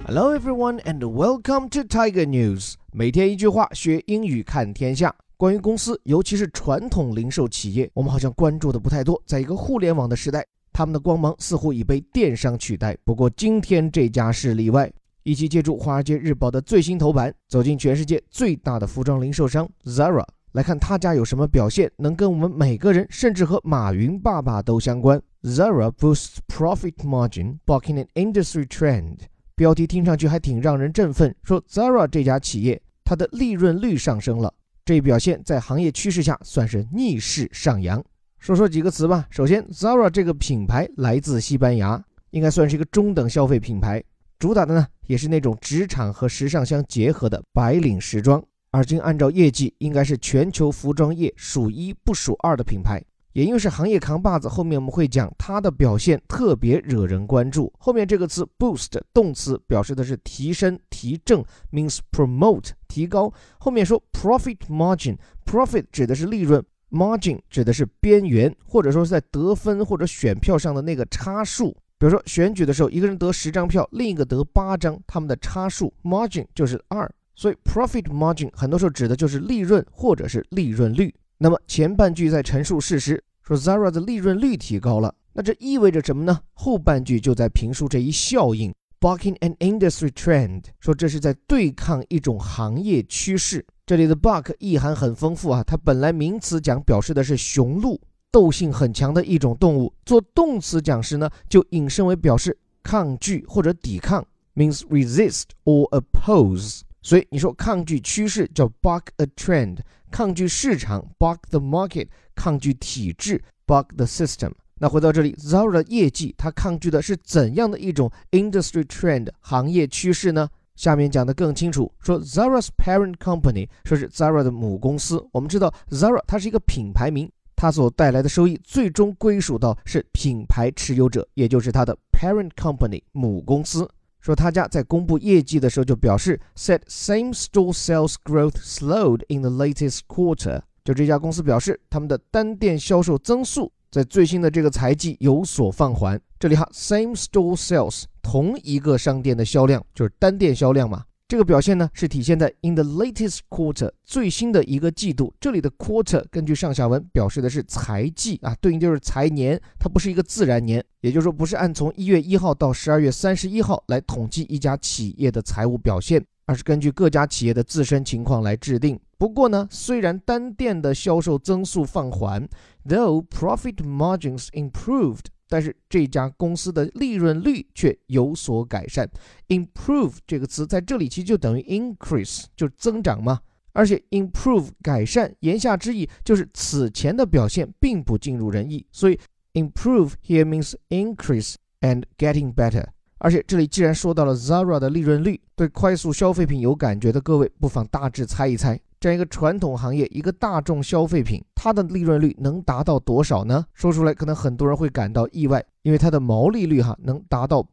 Hello everyone and welcome to Tiger News。 每天一句话，学英语看天下。关于公司，尤其是传统零售企业，我们好像关注的不太多。在一个互联网的时代，他们的光芒似乎已被电商取代。不过今天这家是例外。一起借助《华尔街日报》的最新头版，走进全世界最大的服装零售商 Zara， 来看他家有什么表现，能跟我们每个人，甚至和马云爸爸都相关。Zara boosts profit margin, bucking an industry trend。标题听上去还挺让人振奋，说 Zara 这家企业它的利润率上升了，这一表现在行业趋势下算是逆势上扬。说几个词吧。首先 Zara 这个品牌来自西班牙，应该算是一个中等消费品牌，主打的呢也是那种职场和时尚相结合的白领时装，而今按照业绩应该是全球服装业数一不数二的品牌。也因为是行业扛把子，后面我们会讲它的表现特别惹人关注。后面这个词 boost 动词表示的是提升提振 means promote 提高。后面说 profit margin， profit 指的是利润， margin 指的是边缘，或者说是在得分或者选票上的那个差数。比如说选举的时候，一个人得10张票，另一个得8张，他们的差数 margin 就是2。所以 profit margin 很多时候指的就是利润或者是利润率。那么前半句在陈述事实，说 Zara 的利润率提高了，那这意味着什么呢？后半句就在评述这一效应 bucking an industry trend， 说这是在对抗一种行业趋势。这里的 buck 意涵很丰富啊，它本来名词讲表示的是雄鹿，斗性很强的一种动物，做动词讲时呢就引申为表示抗拒或者抵抗 means resist or oppose。 所以你说抗拒趋势叫 buck a trend， 抗拒市场 buck the market， 抗拒体制 buck the system。 那回到这里 Zara 的业绩，它抗拒的是怎样的一种 industry trend 行业趋势呢？下面讲得更清楚，说 Zara's parent company 说是 Zara 的母公司。我们知道 Zara 它是一个品牌名，它所带来的收益最终归属到是品牌持有者，也就是它的 parent company 母公司。说他家在公布业绩的时候就表示 said same-store sales growth slowed in the latest quarter， 就这家公司表示他们的单店销售增速在最新的这个财季有所放缓。这里哈 same-store sales 同一个商店的销量就是单店销量嘛，这个表现呢是体现在 in the latest quarter 最新的一个季度。这里的 quarter 根据上下文表示的是财季啊，对应就是财年，它不是一个自然年，也就是说不是按从1月1号到12月31号来统计一家企业的财务表现，而是根据各家企业的自身情况来制定。不过呢，虽然单店的销售增速放缓 though profit margins improved，但是这家公司的利润率却有所改善。 improve 这个词在这里其实就等于 increase， 就是增长嘛，而且 improve 改善，言下之意就是此前的表现并不尽如人意，所以 improve here means increase and getting better。 而且这里既然说到了 Zara 的利润率，对快速消费品有感觉的各位不妨大致猜一猜，这样一个传统行业，一个大众消费品，它的利润率能达到多少呢？说出来可能很多人会感到意外，因为它的毛利率能达到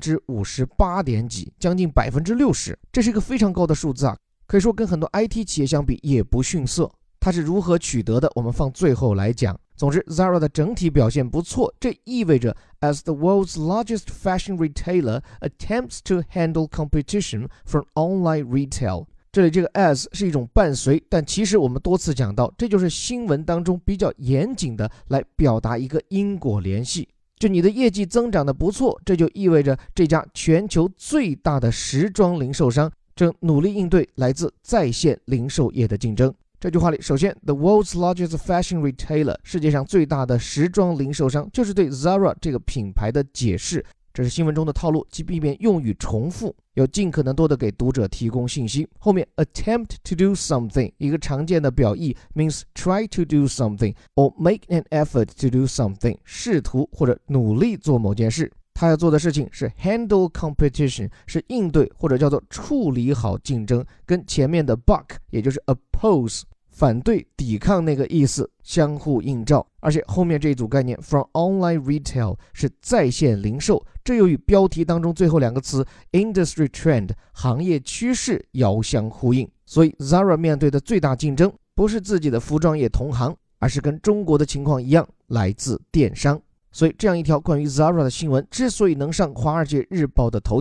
58. 点几，将近 60%， 这是一个非常高的数字啊，可以说跟很多 IT 企业相比也不逊色。它是如何取得的，我们放最后来讲。总之 Zara 的整体表现不错，这意味着 as the world's largest fashion retailer attempts to handle competition from online retail，这里这个 as 是一种伴随，但其实我们多次讲到，这就是新闻当中比较严谨的来表达一个因果联系。就你的业绩增长的不错，这就意味着这家全球最大的时装零售商正努力应对来自在线零售业的竞争。这句话里，首先 the world's largest fashion retailer 世界上最大的时装零售商，就是对 Zara 这个品牌的解释。这是新闻中的套路，即避免用语重复，要尽可能多的给读者提供信息。后面 attempt to do something 一个常见的表意 means try to do something or make an effort to do something， 试图或者努力做某件事。他要做的事情是 handle competition， 是应对或者叫做处理好竞争，跟前面的 buck 也就是 oppose反对抵抗那个意思相互映照。而且后面这一组概念 from online retail 是在线零售，这又与标题当中最后两个词 industry trend 行业趋势遥相呼应。所以 Zara 面对的最大竞争不是自己的服装业同行，而是跟中国的情况一样，来自电商。所以这样一条关于 Zara 的新闻之所以能上华尔街日报的头条，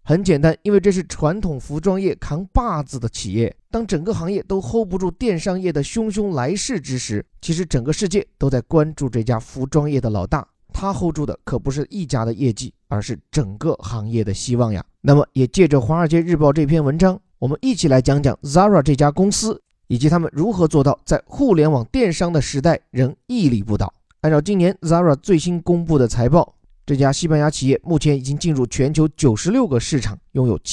很简单，因为这是传统服装业扛把子的企业，当整个行业都 hold 不住电商业的汹汹来势之时，其实整个世界都在关注这家服装业的老大，他 hold 住的可不是一家的业绩，而是整个行业的希望呀。那么也借着华尔街日报这篇文章，我们一起来讲讲 Zara 这家公司，以及他们如何做到在互联网电商的时代仍屹立不倒。按照今年 Zara 最新公布的财报，这家西班牙企业目前已经进入全球96个市场，拥有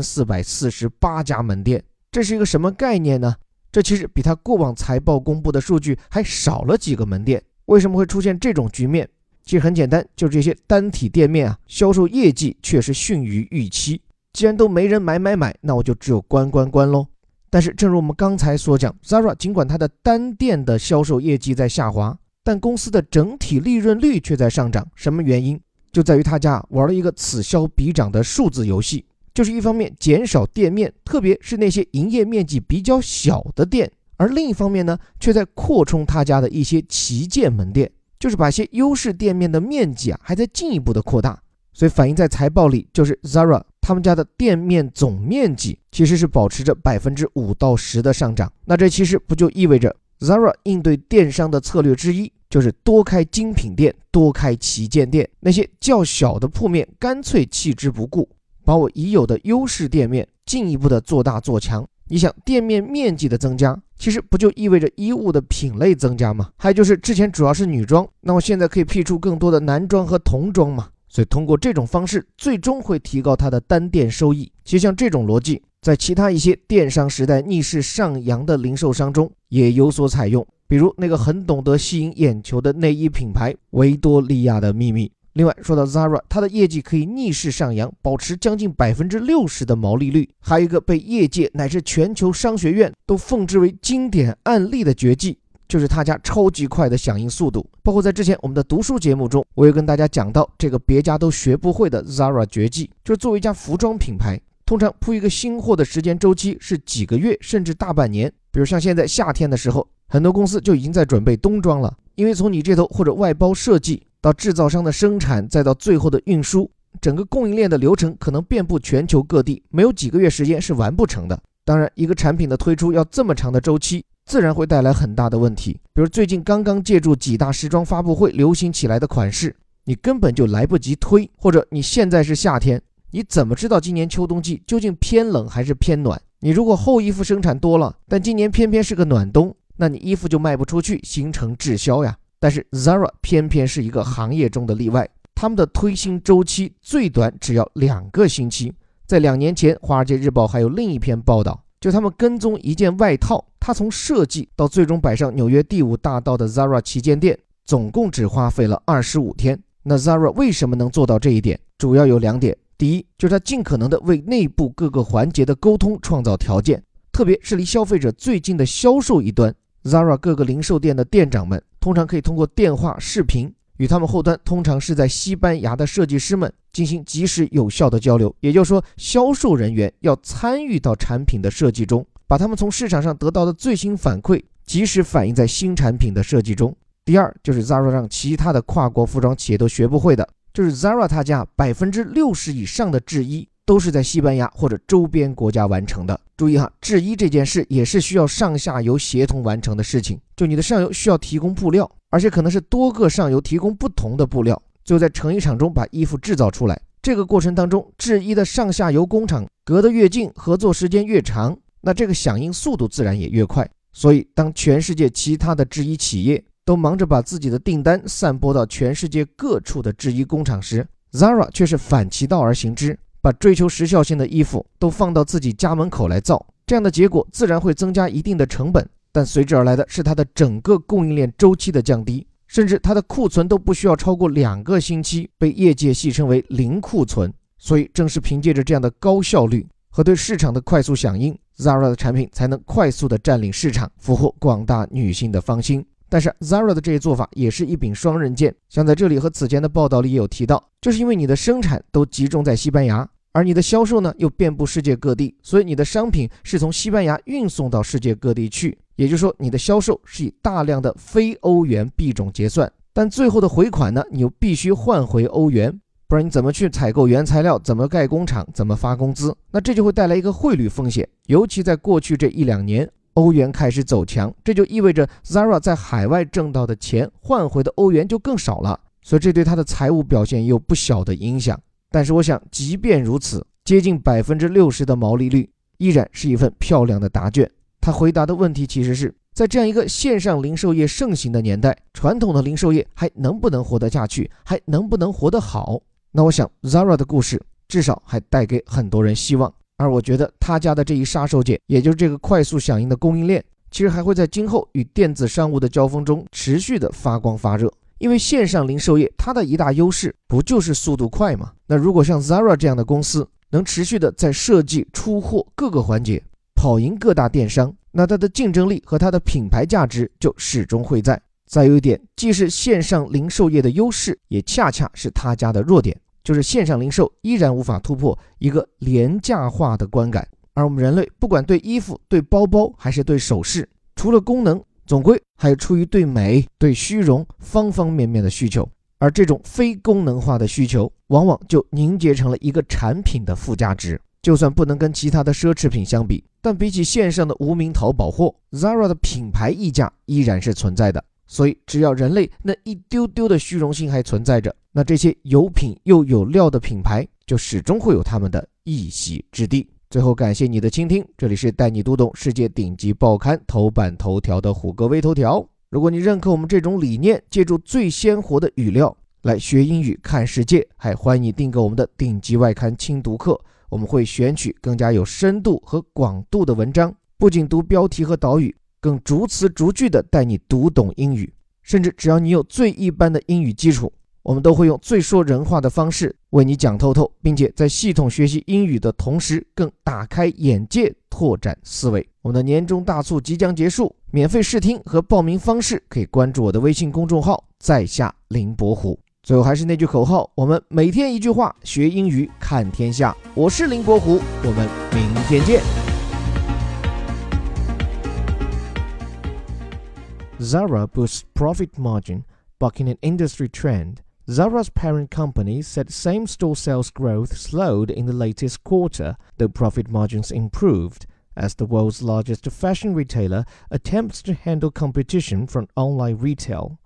7448家门店。这是一个什么概念呢？这其实比他过往财报公布的数据还少了几个门店。为什么会出现这种局面？其实很简单，就是这些单体店面销售业绩确实逊于预期。既然都没人买，那我就只有关咯。但是正如我们刚才所讲， Zara 尽管它的单店的销售业绩在下滑，但公司的整体利润率却在上涨。什么原因？就在于他家玩了一个此消彼长的数字游戏，就是一方面减少店面，特别是那些营业面积比较小的店，而另一方面呢，却在扩充他家的一些旗舰门店，就是把一些优势店面的面积还在进一步的扩大。所以反映在财报里，就是 Zara 他们家的店面总面积其实是保持着5%到10%的上涨。那这其实不就意味着 Zara 应对电商的策略之一，就是多开精品店，多开旗舰店，那些较小的铺面干脆弃之不顾，把我已有的优势店面进一步的做大做强。你想，店面面积的增加，其实不就意味着衣物的品类增加吗？还有就是之前主要是女装，那我现在可以辟出更多的男装和童装嘛。所以通过这种方式，最终会提高它的单店收益。其实像这种逻辑，在其他一些电商时代逆势上扬的零售商中也有所采用，比如那个很懂得吸引眼球的内衣品牌维多利亚的秘密。另外说到 Zara， 它的业绩可以逆势上扬，保持将近60%的毛利率，还有一个被业界乃至全球商学院都奉之为经典案例的绝技，就是他家超级快的响应速度。包括在之前我们的读书节目中，我也跟大家讲到这个别家都学不会的 Zara 绝技，就是作为一家服装品牌，通常铺一个新货的时间周期是几个月甚至大半年。比如像现在夏天的时候，很多公司就已经在准备冬装了，因为从你这头或者外包设计到制造商的生产，再到最后的运输，整个供应链的流程可能遍布全球各地，没有几个月时间是完不成的。当然，一个产品的推出要这么长的周期，自然会带来很大的问题。比如最近刚刚借助几大时装发布会流行起来的款式，你根本就来不及推，或者你现在是夏天，你怎么知道今年秋冬季究竟偏冷还是偏暖？你如果厚衣服生产多了，但今年偏偏是个暖冬，那你衣服就卖不出去，形成滞销呀。但是 Zara 偏偏是一个行业中的例外，他们的推新周期最短只要2个星期。在2年前，华尔街日报还有另一篇报道，就他们跟踪一件外套，它从设计到最终摆上纽约第5大道的 Zara 旗舰店，总共只花费了25天。那 Zara 为什么能做到这一点？主要有2点。第一，就是它尽可能的为内部各个环节的沟通创造条件，特别是离消费者最近的销售一端。 Zara 各个零售店的店长们通常可以通过电话、视频与他们后端通常是在西班牙的设计师们进行及时有效的交流。也就是说，销售人员要参与到产品的设计中，把他们从市场上得到的最新反馈及时反映在新产品的设计中。第二，就是 Zara 让其他的跨国服装企业都学不会的，就是 Zara 他家60%以上的制衣都是在西班牙或者周边国家完成的。注意制衣这件事也是需要上下游协同完成的事情，就你的上游需要提供布料，而且可能是多个上游提供不同的布料，最后在成衣厂中把衣服制造出来。这个过程当中，制衣的上下游工厂隔得越近，合作时间越长，那这个响应速度自然也越快。所以当全世界其他的制衣企业都忙着把自己的订单散播到全世界各处的制衣工厂时， Zara 却是反其道而行之，把追求时效性的衣服都放到自己家门口来造。这样的结果自然会增加一定的成本，但随之而来的是它的整个供应链周期的降低，甚至它的库存都不需要超过2个星期，被业界戏称为零库存。所以正是凭借着这样的高效率和对市场的快速响应， Zara 的产品才能快速的占领市场，俘获广大女性的芳心。但是 Zara 的这些做法也是一柄双刃剑，像在这里和此前的报道里也有提到，就是因为你的生产都集中在西班牙，而你的销售呢又遍布世界各地，所以你的商品是从西班牙运送到世界各地去，也就是说你的销售是以大量的非欧元币种结算，但最后的回款呢你又必须换回欧元， 不然你怎么去采购原材料，怎么盖工厂，怎么发工资？那这就会带来一个汇率风险，尤其在过去这1-2年，欧元开始走强，这就意味着 Zara 在海外挣到的钱换回的欧元就更少了，所以这对它的财务表现也有不小的影响。但是我想，即便如此，接近60%的毛利率依然是一份漂亮的答卷。他回答的问题其实是，在这样一个线上零售业盛行的年代，传统的零售业还能不能活得下去，还能不能活得好？那我想 Zara 的故事至少还带给很多人希望，而我觉得他家的这一杀手锏，也就是这个快速响应的供应链，其实还会在今后与电子商务的交锋中持续的发光发热。因为线上零售业它的一大优势不就是速度快吗？那如果像 Zara 这样的公司能持续的在设计、出货各个环节跑赢各大电商，那它的竞争力和它的品牌价值就始终会在。再有一点，既是线上零售业的优势，也恰恰是他家的弱点，就是线上零售依然无法突破一个廉价化的观感。而我们人类不管对衣服、对包包还是对首饰，除了功能，总归还有出于对美、对虚荣方方面面的需求，而这种非功能化的需求往往就凝结成了一个产品的附加值。就算不能跟其他的奢侈品相比，但比起线上的无名淘宝货， Zara 的品牌溢价依然是存在的。所以只要人类那一丢丢的虚荣心还存在着，那这些有品又有料的品牌就始终会有他们的一席之地。最后感谢你的倾听，这里是带你读懂世界顶级报刊头版头条的虎哥微头条。如果你认可我们这种理念，借助最鲜活的语料来学英语看世界，还欢迎你订购我们的顶级外刊精读课。我们会选取更加有深度和广度的文章，不仅读标题和导语，更逐词逐句的带你读懂英语。甚至只要你有最一般的英语基础，我们都会用最说人话的方式为你讲透透，并且在系统学习英语的同时更打开眼界，拓展思维。我们的年终大促即将结束，免费试听和报名方式可以关注我的微信公众号在下林伯虎。最后还是那句口号，我们每天一句话，学英语看天下。我是林伯虎，我们明天见。Zara boosts profit margin, bucking an industry trend. Zara's parent company said same-store sales growth slowed in the latest quarter, though profit margins improved, as the world's largest fashion retailer attempts to handle competition from online retail.